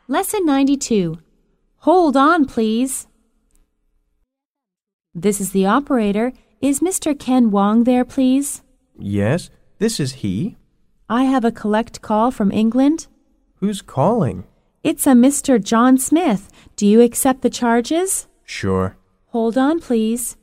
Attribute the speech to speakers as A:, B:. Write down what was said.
A: Lesson 92. Hold on, please. This is the operator. Is Mr. Ken Wong there, please?
B: Yes, this is he.
A: I have a collect call from England.
B: Who's calling?
A: It's a Mr. John Smith. Do you accept the charges?
B: Sure.
A: Hold on, please.